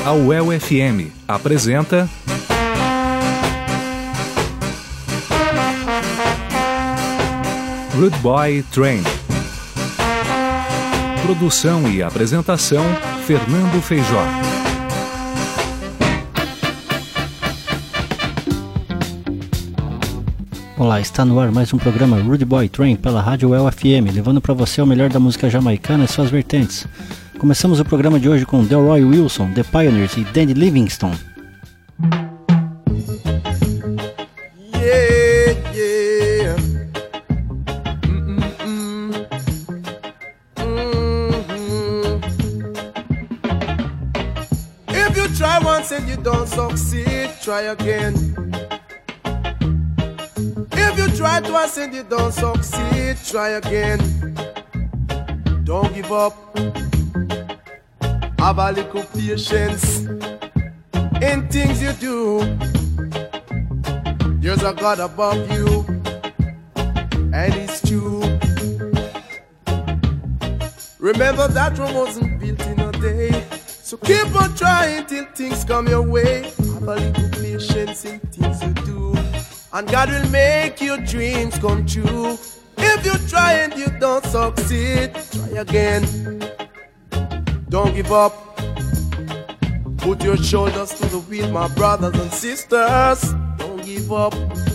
A UEL FM apresenta Rude Boy Train. Produção e apresentação, Fernando Feijó. Olá, está no ar mais um programa Rude Boy Train pela Rádio UEL FM, levando para você o melhor da música jamaicana e suas vertentes. Começamos o programa de hoje com Delroy Wilson, The Pioneers e Danny Livingstone. If you try once and you don't succeed, try again. If you try twice and you don't succeed, try again. Don't give up. Have a little patience in things you do. There's a God above you, and it's true. Remember that Rome wasn't built in a day, so keep on trying till things come your way. Have a little patience in things you do, and God will make your dreams come true. If you try and you don't succeed, try again. Don't give up. Put your shoulders to the wheel, my brothers and sisters. Don't give up.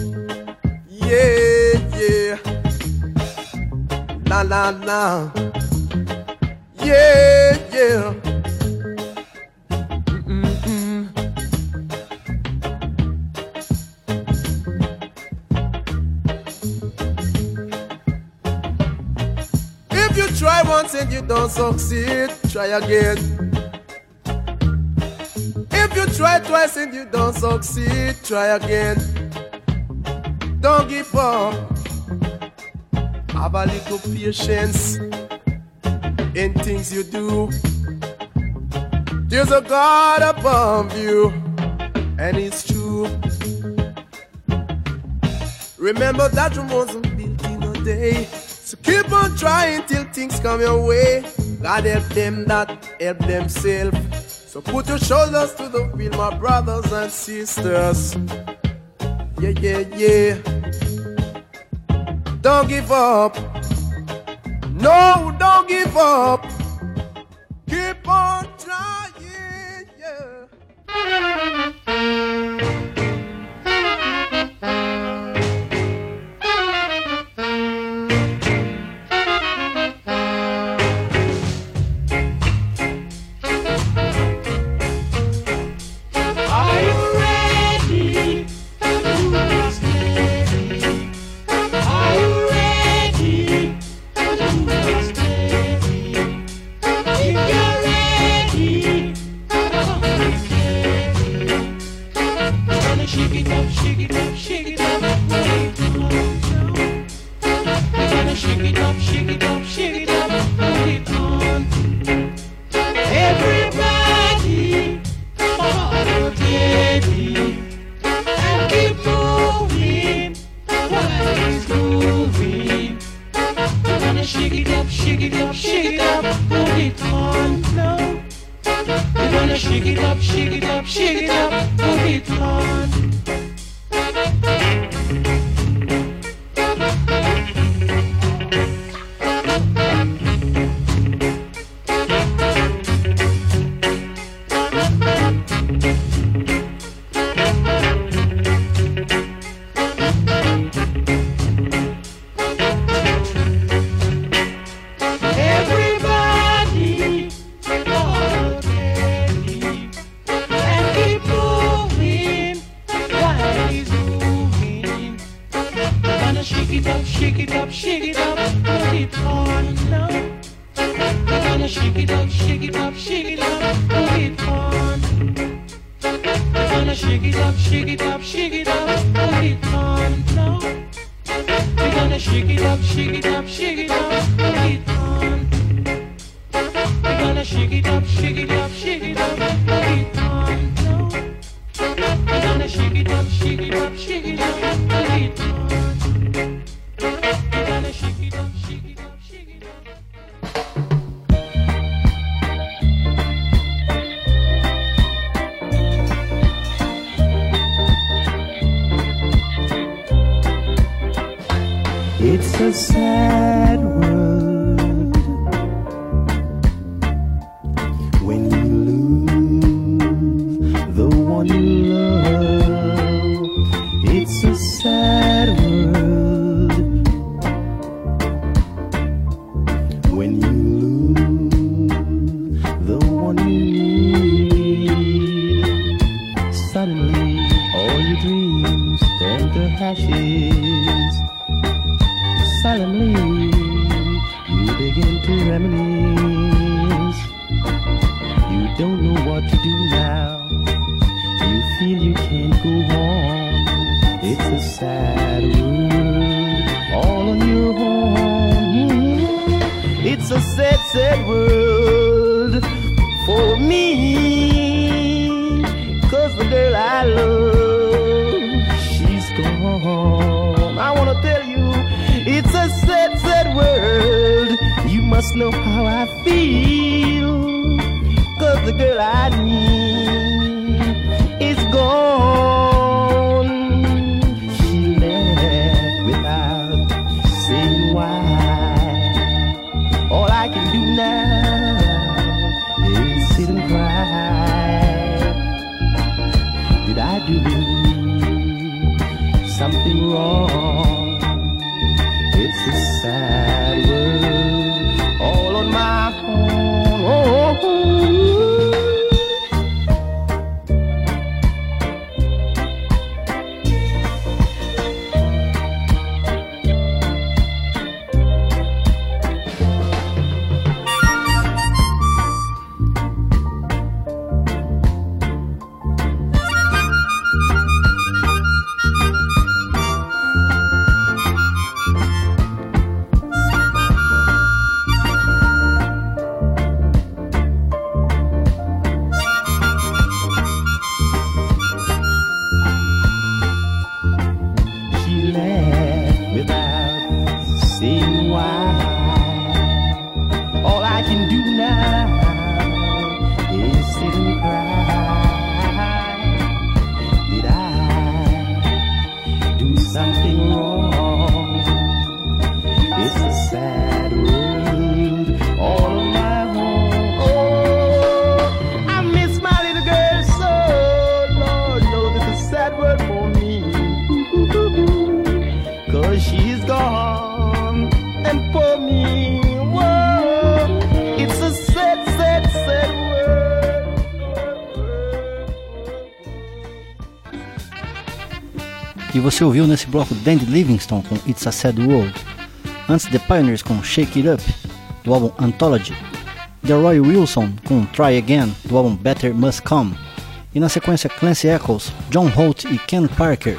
Yeah, yeah. La, la, la. Yeah, yeah. If you try once and you don't succeed, try again. If you try twice and you don't succeed, try again. Don't give up. Have a little patience in things you do. There's a God above you, and it's true. Remember that Rome wasn't built in a day, so keep on trying till things come your way. God help them that help themselves. So put your shoulders to the wheel, my brothers and sisters. Yeah, yeah, yeah. Don't give up. No, don't give up. Keep on trying, yeah. a sad world when you lose the one you love. It's a sad world when you lose the one you need. Suddenly all your dreams turn to ashes. Suddenly you begin to reminisce. You don't know what to do now. You feel you can't go on. It's a sad world all on your own. It's a sad, sad world for me. 'Cause the girl I love, she's gone. I wanna tell you, it's a sad, sad world. You must know how I feel. 'Cause the girl I need is gone. She left without saying why. All I can do now is sit and cry. Did I do something wrong? It's a sad world all on my own. Oh. E você ouviu nesse bloco Dandy Livingstone com It's a Sad World. Antes The Pioneers com Shake It Up, do álbum Anthology. Delroy Wilson com Try Again, do álbum Better Must Come. E na sequência Clancy Eccles, John Holt e Ken Parker.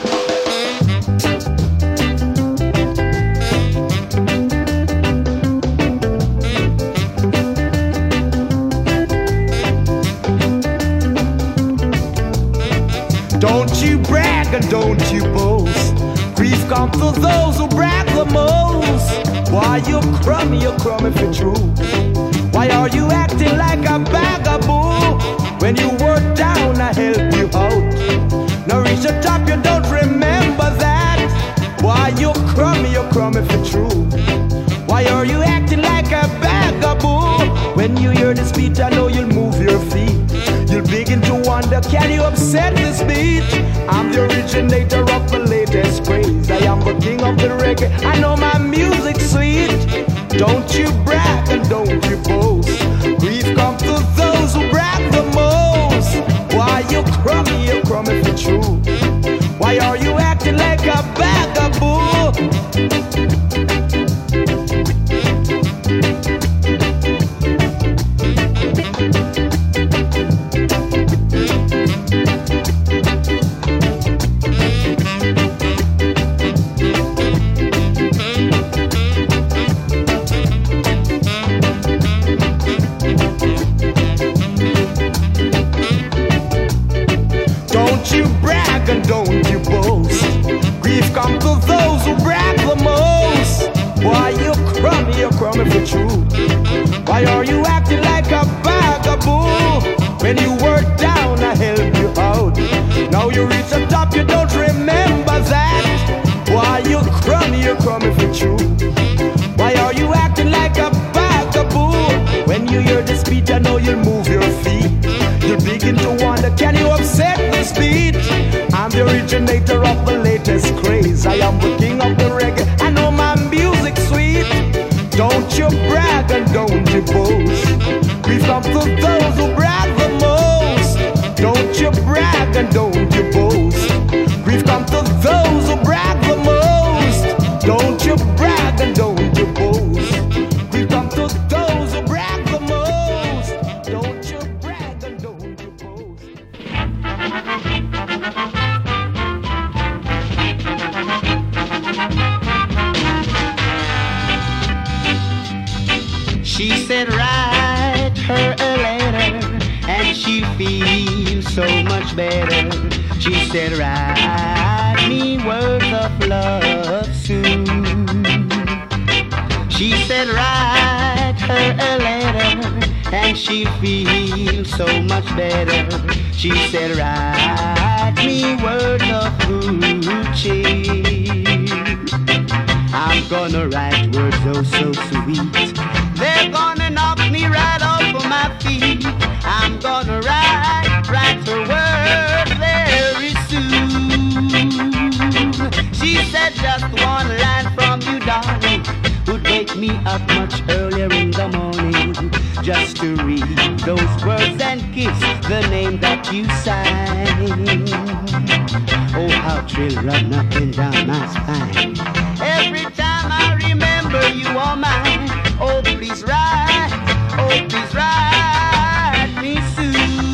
Don't you brag and don't you boast. Grief comes to those who brag the most. Why you crummy for true? Why are you acting like a vagabond? When you were down, I helped you out. Now reach the top, you don't remember that. Why you crummy for true? Why are you acting like a vagabond? When you hear this beat, I know you'll move your feet. You'll begin to wonder, can you upset this beat? I'm the originator of the latest craze. I am the king of the reggae, I know my music's sweet. Don't you brag and don't you boast. Grief comes to those who brag the most. Why you crummy for true? Why are you acting like a vagabond? And don't you boast. Grief comes to those who brag the most. Why you crummy for true? Why are you acting like a vagabond? When you were down, I helped you out. Now you reach the top, you don't remember that. Why you crummy for true. Why are you acting like a bugaboo? When you hear this beat, I know you'll move your feet. You're beginning to wonder, can you upset this beat? I'm the originator of the latest craze. I am the king of the reggae, I know my music's sweet. Don't you brag and don't you boast. We've come to those who brag the most. Don't you brag and don't you boast. We've come to those who brag the most. Don't you brag and don't you boast. We've come to those who brag the most. Don't you brag and don't you boast. She said write her a letter and she feels so much better. She said write me words of love soon. She said write her a letter and she feels so much better. She said write me words of good cheer. I'm gonna write words oh so sweet. They're gonna knock me right off of my feet. I'm gonna write her words very soon. She said just one line from you, darling, would wake me up much earlier in the morning, just to read those words and kiss the name that you sign. Oh, how thrill run up and down my spine. Every time I remember you are mine. Oh, please write me soon.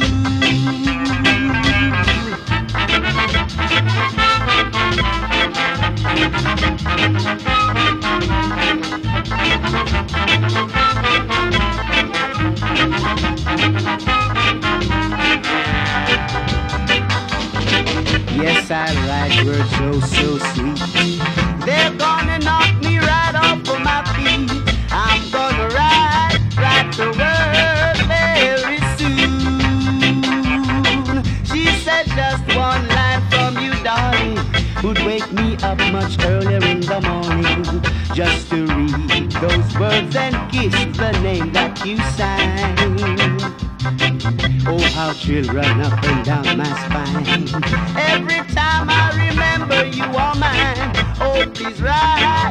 Yes, I write words so sweet. They're gonna knock me right off of my feet. I'm gonna write the word very soon. She said just one line from you, darling, would wake me up much earlier in the morning, just to read those words and kiss the name that you sign. Oh, how thrill run up and down my spine. Every time I remember you are mine. Oh, please write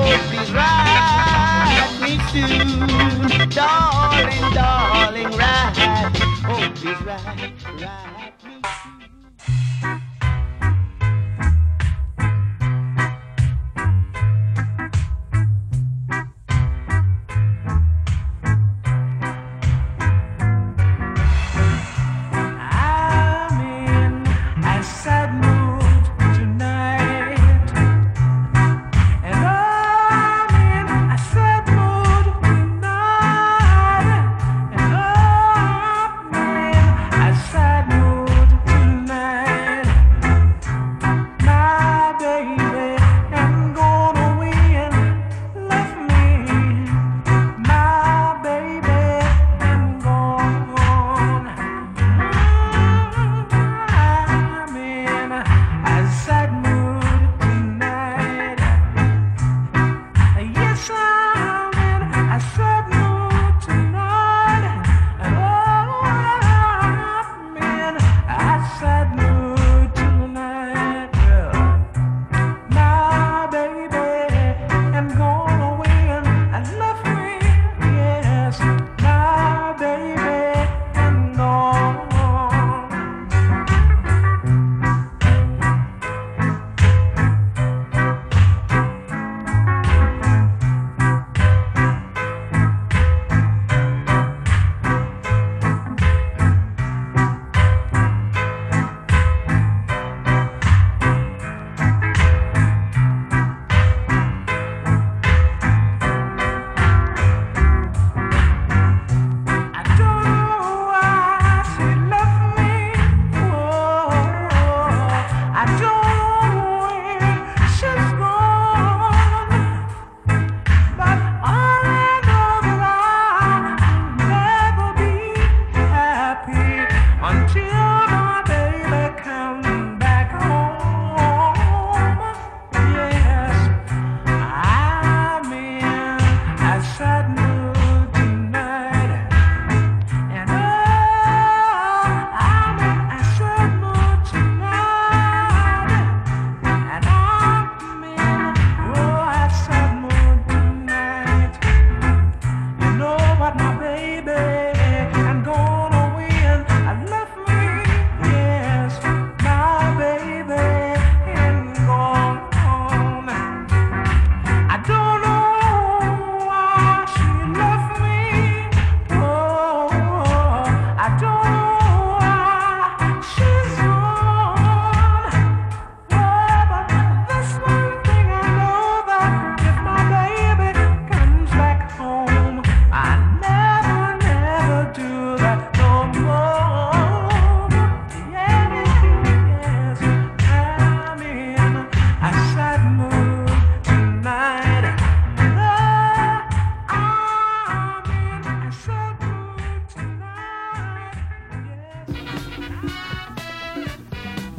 me soon. Darling, write. Oh, please write me soon. Sad mood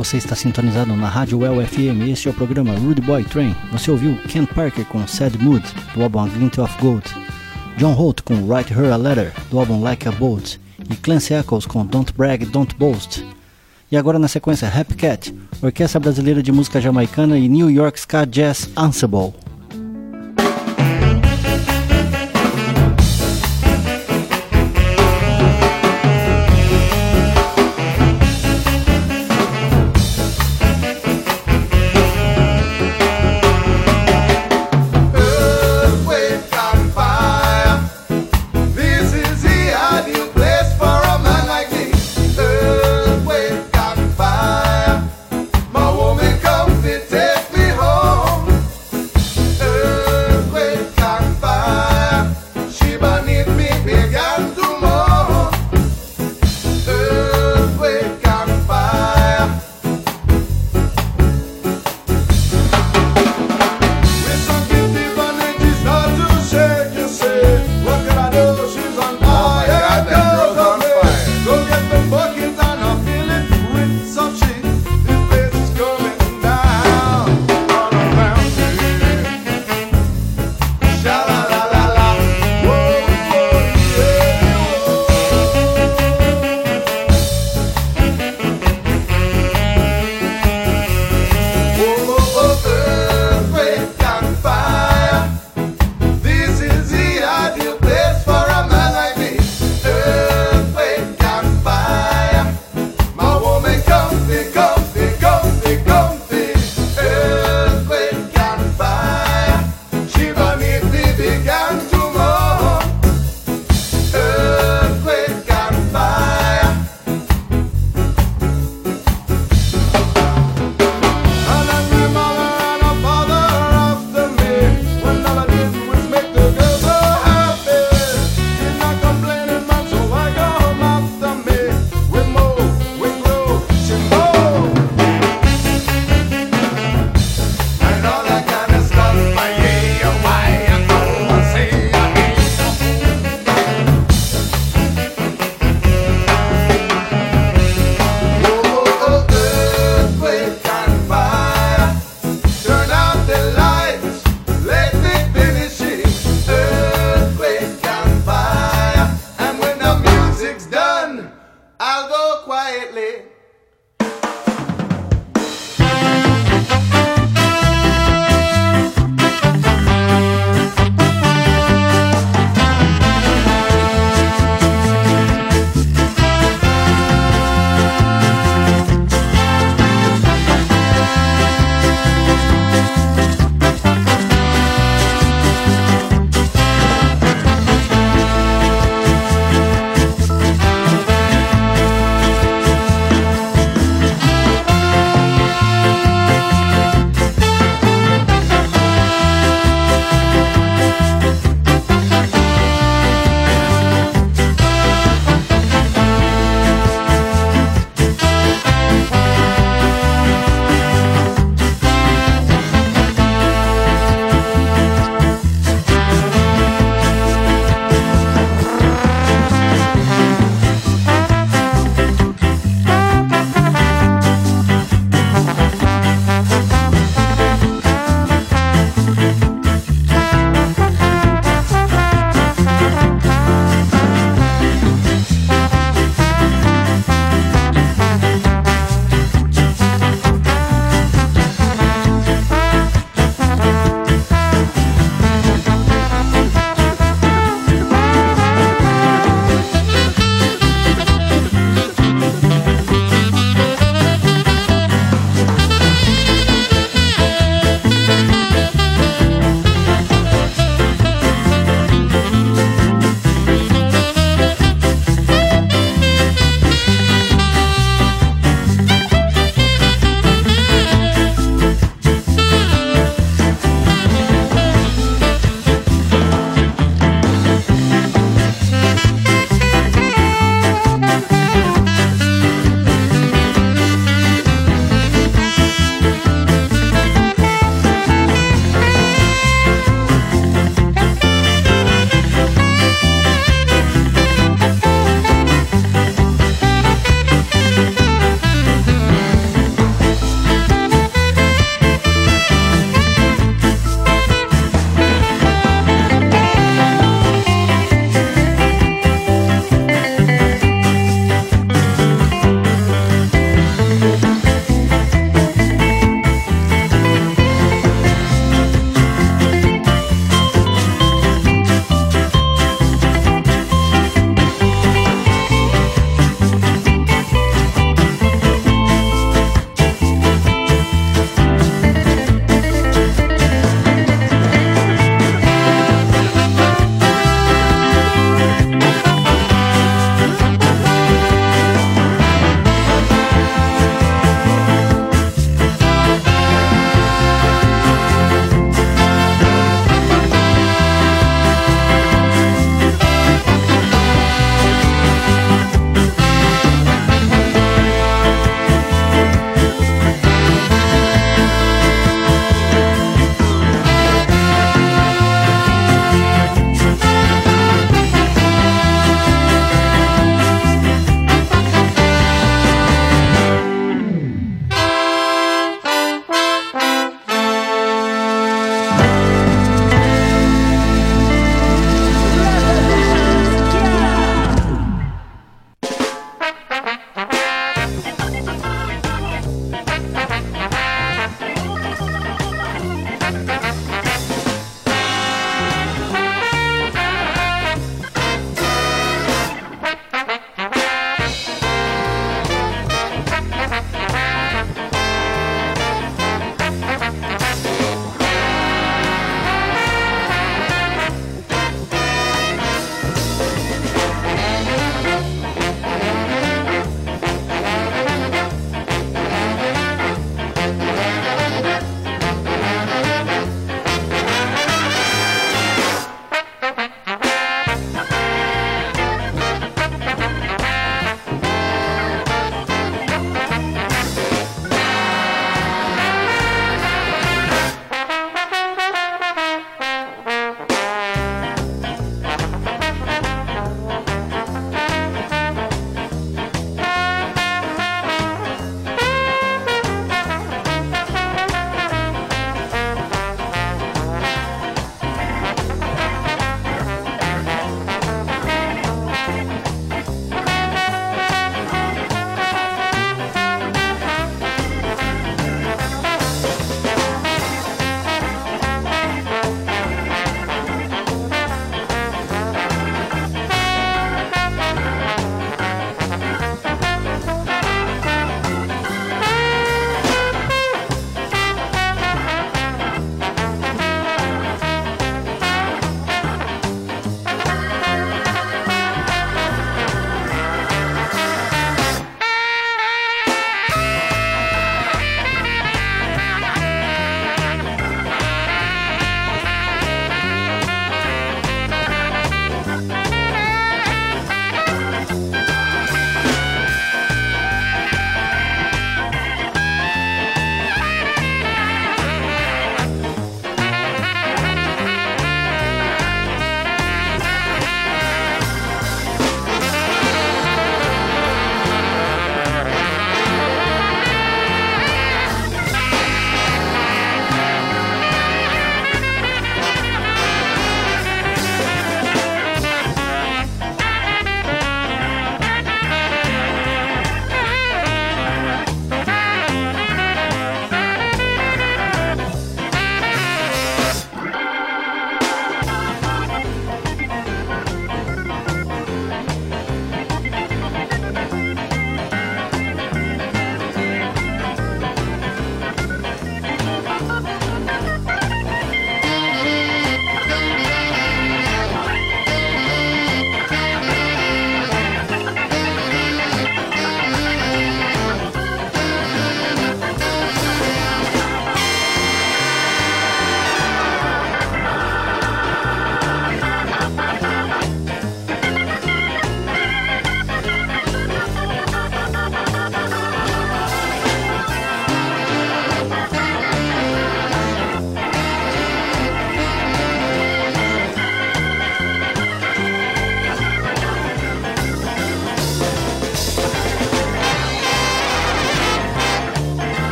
Você está sintonizado na Rádio Well FM, este é o programa Rude Boy Train. Você ouviu Ken Parker com Sad Mood, do álbum A Glint of Gold, John Holt com Write Her a Letter, do álbum Like a Bolt, e Clancy Eccles com Don't Brag, Don't Boast. E agora na sequência Happy Cat, Orquestra Brasileira de Música Jamaicana e New York Ska Jazz Ensemble.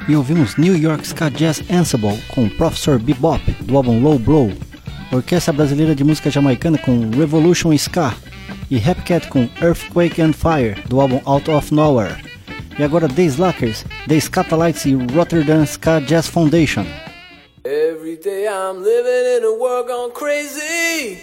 E ouvimos New York Ska Jazz Ensemble com Professor Bebop, do álbum Low Blow, Orquestra Brasileira de Música Jamaicana com Revolution Ska e Happy Cat com Earthquake and Fire, do álbum Out of Nowhere. E agora The Slackers, The Scatalites e Rotterdam Ska Jazz Foundation. Every day I'm living in a world gone crazy.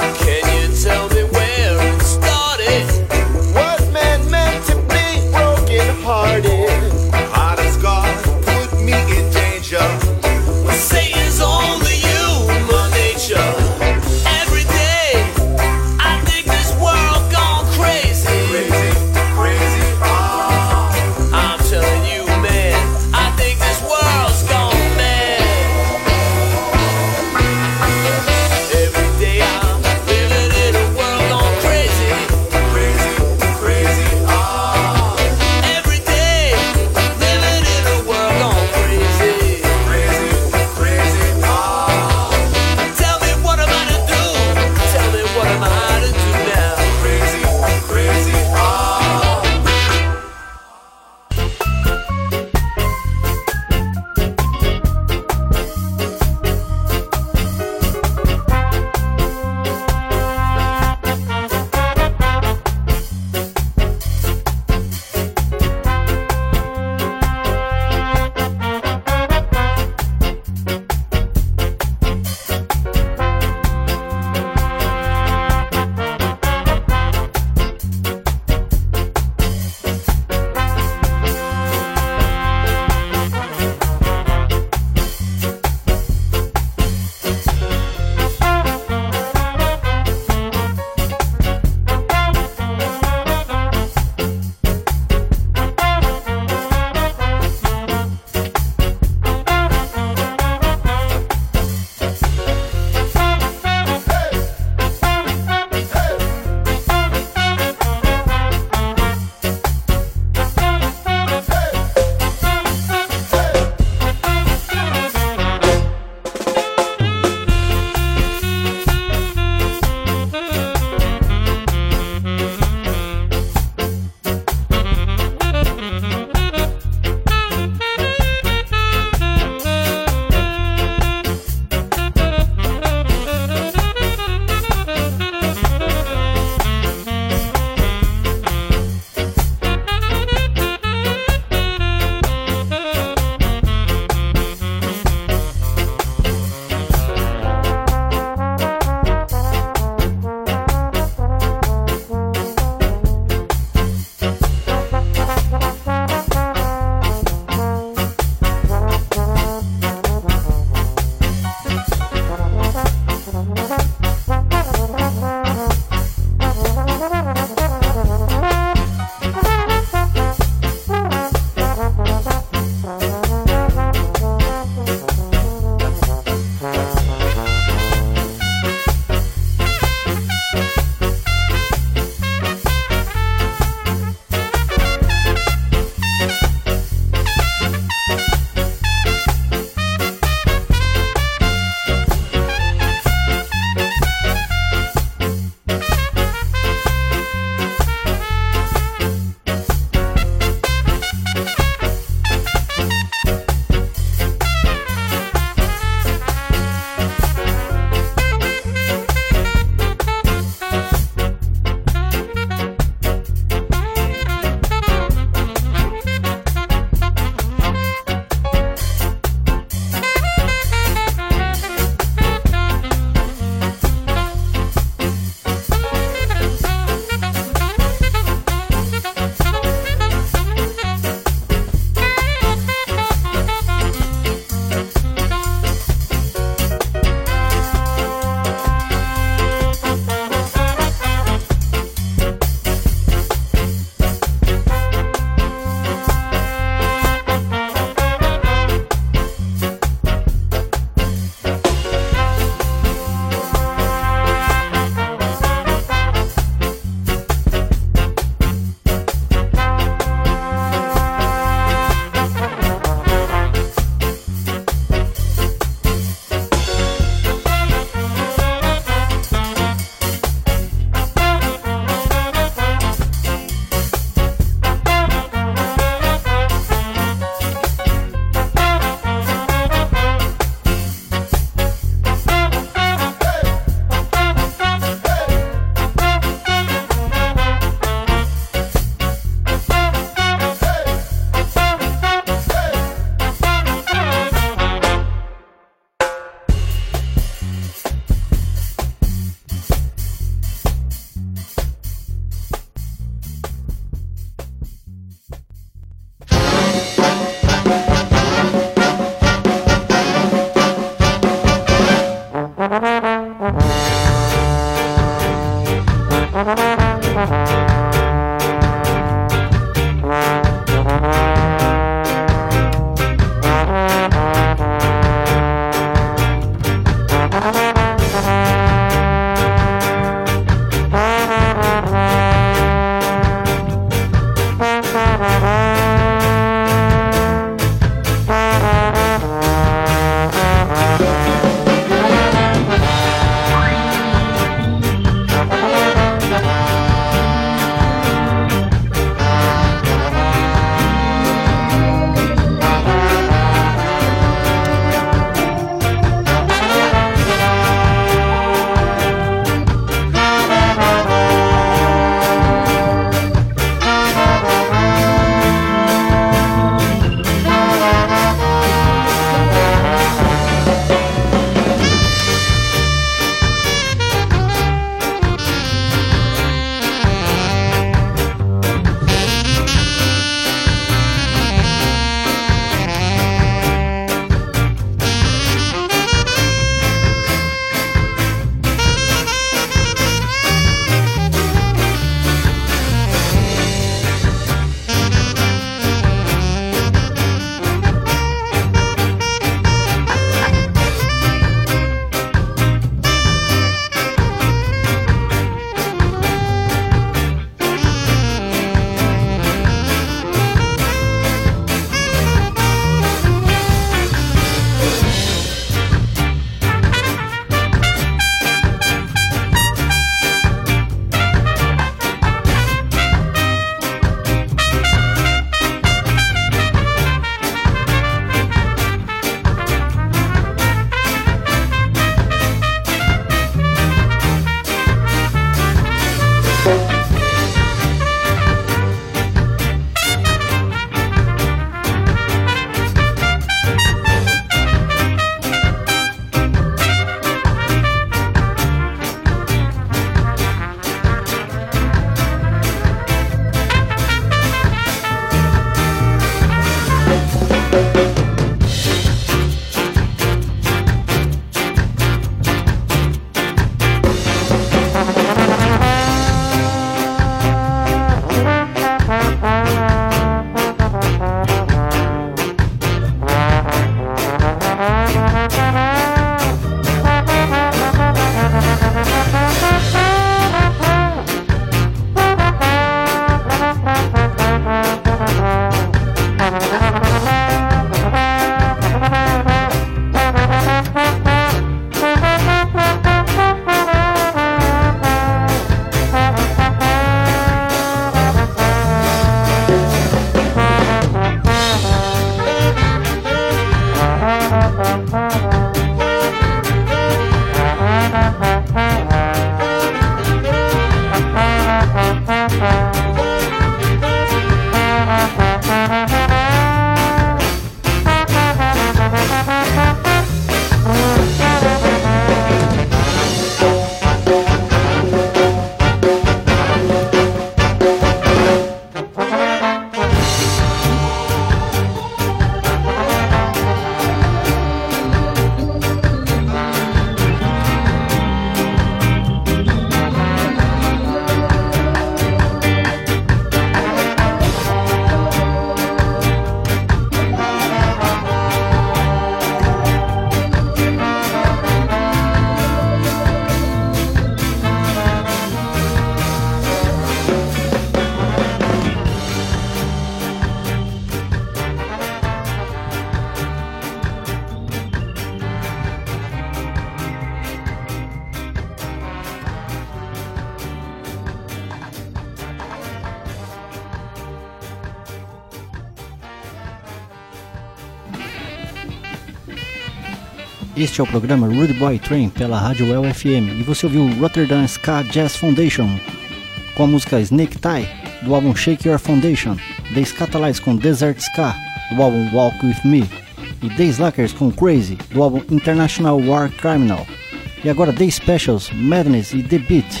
Este é o programa Rude Boy Train pela Rádio Well FM e você ouviu Rotterdam Ska Jazz Foundation com a música Snake Tie do álbum Shake Your Foundation, The Scatalites com Desert Ska do álbum Walk With Me e The Slackers com Crazy do álbum International War Criminal e agora The Specials, Madness e The Beat.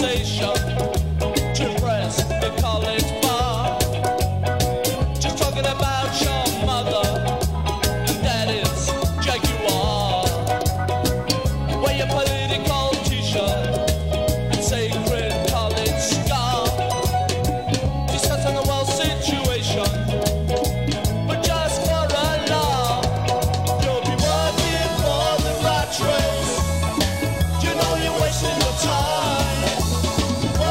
conversation to press the college bar. Just talking about your mother, and that is Jaguar. Wear your political t-shirt and sacred college scar. Discussing the world situation, but just for a laugh. You'll be working for the rat race. You know you're wasting your time.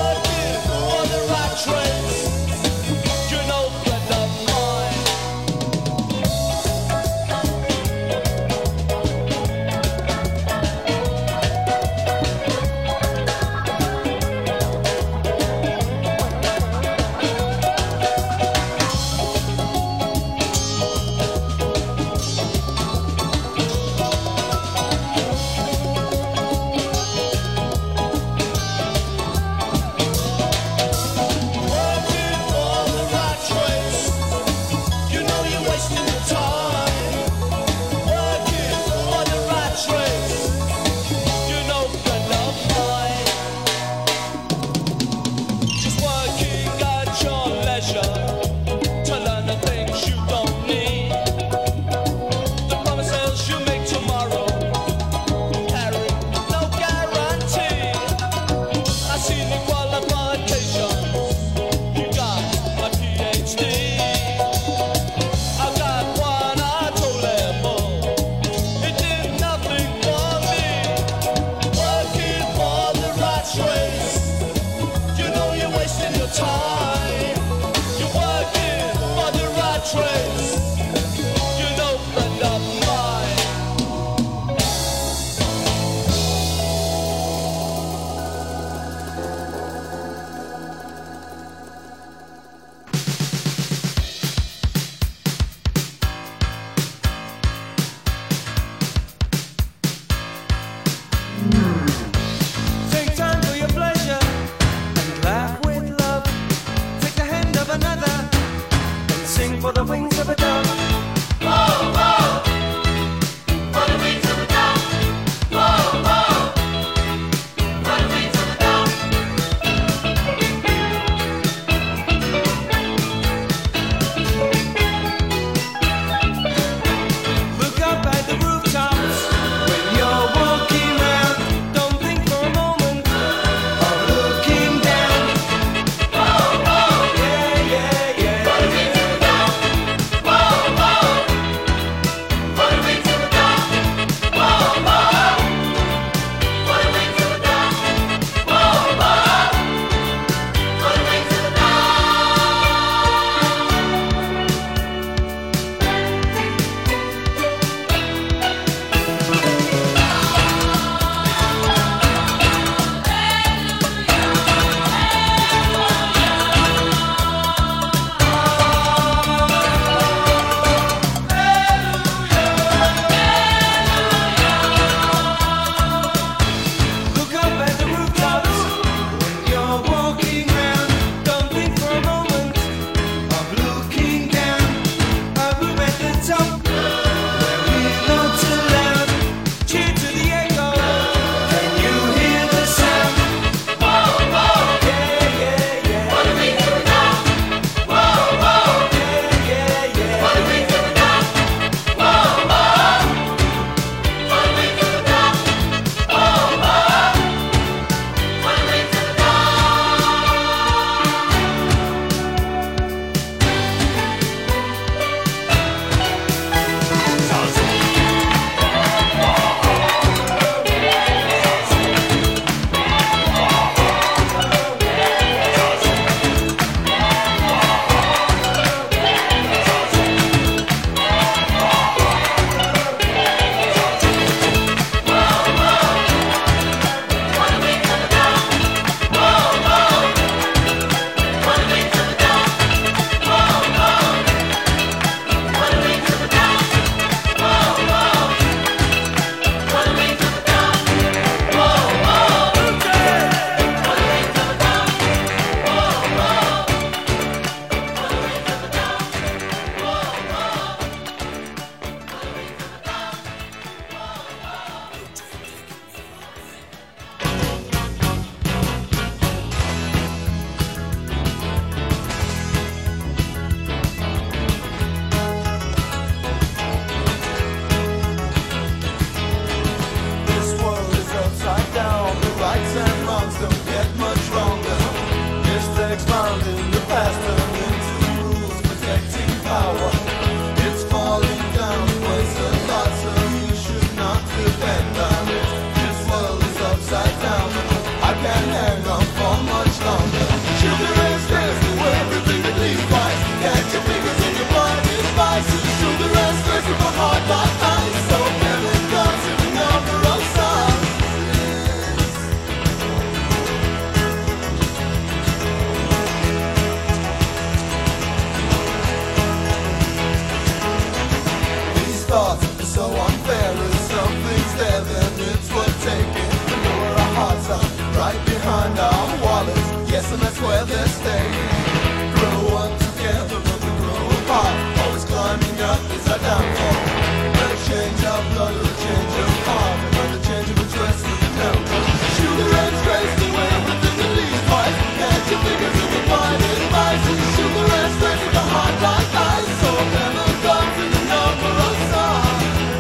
place and that's where they're staying. Grow up together but we grow apart. Always climbing up is our downfall. A change of blood or a change of heart. Another change of address with the devil. Sugar and stress to everything that leaves twice. Catch your fingers in the divided vices. Sugar and stress with a heart like ice. So never comes in the number of stars.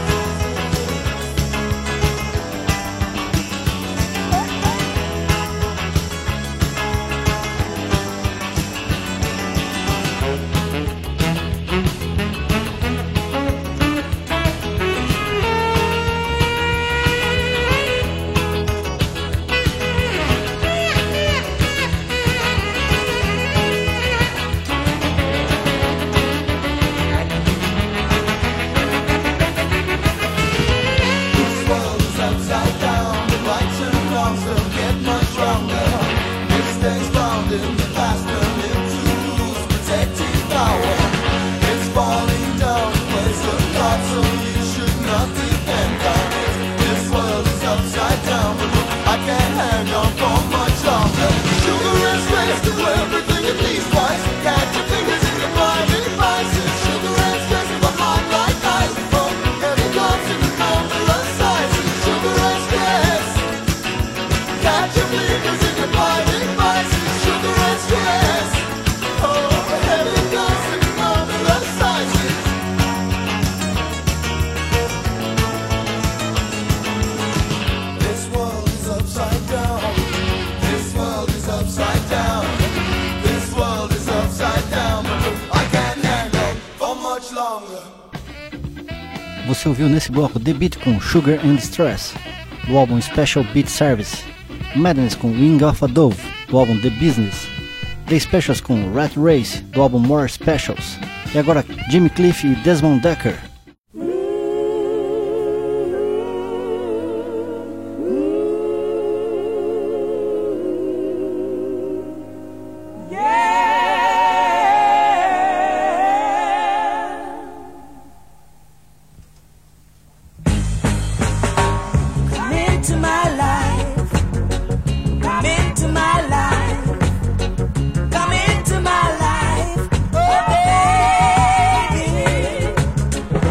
Você ouviu nesse bloco The Beat com Sugar and Stress, do álbum Special Beat Service, Madness com Wing of a Dove, do álbum The Business, The Specials com Rat Race, do álbum More Specials, e agora Jimmy Cliff e Desmond Decker. Come into my life, oh baby.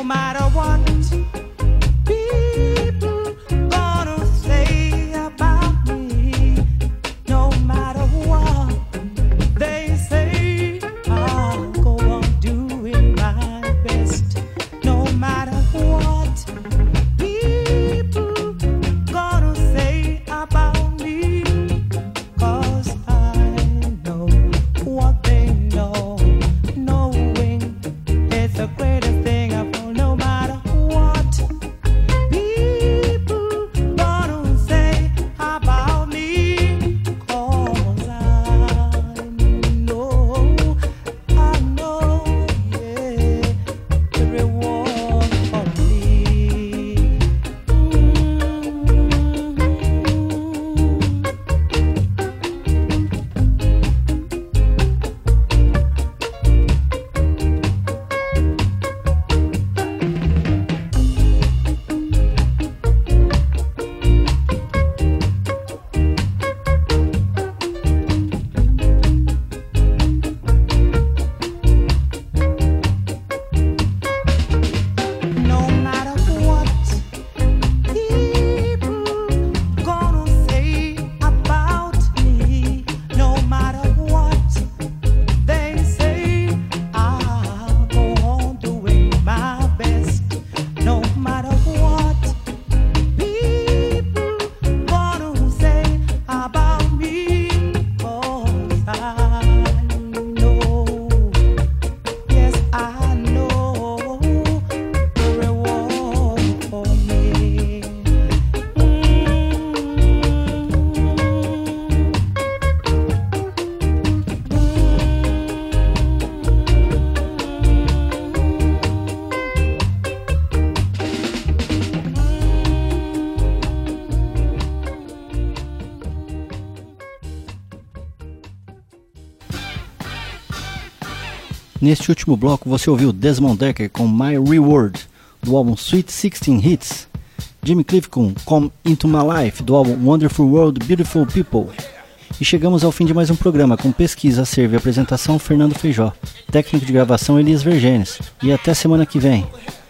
Neste último bloco você ouviu Desmond Dekker com My Reward, do álbum Sweet 16 Hits, Jimmy Cliff com Come Into My Life, do álbum Wonderful World, Beautiful People. E chegamos ao fim de mais um programa com pesquisa, acervo e apresentação Fernando Feijó, técnico de gravação Elias Vergenes. E até semana que vem.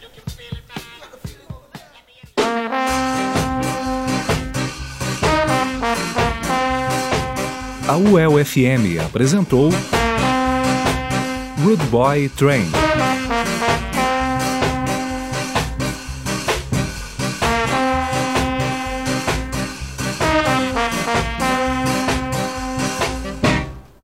A UEL FM apresentou Rude Boy Train.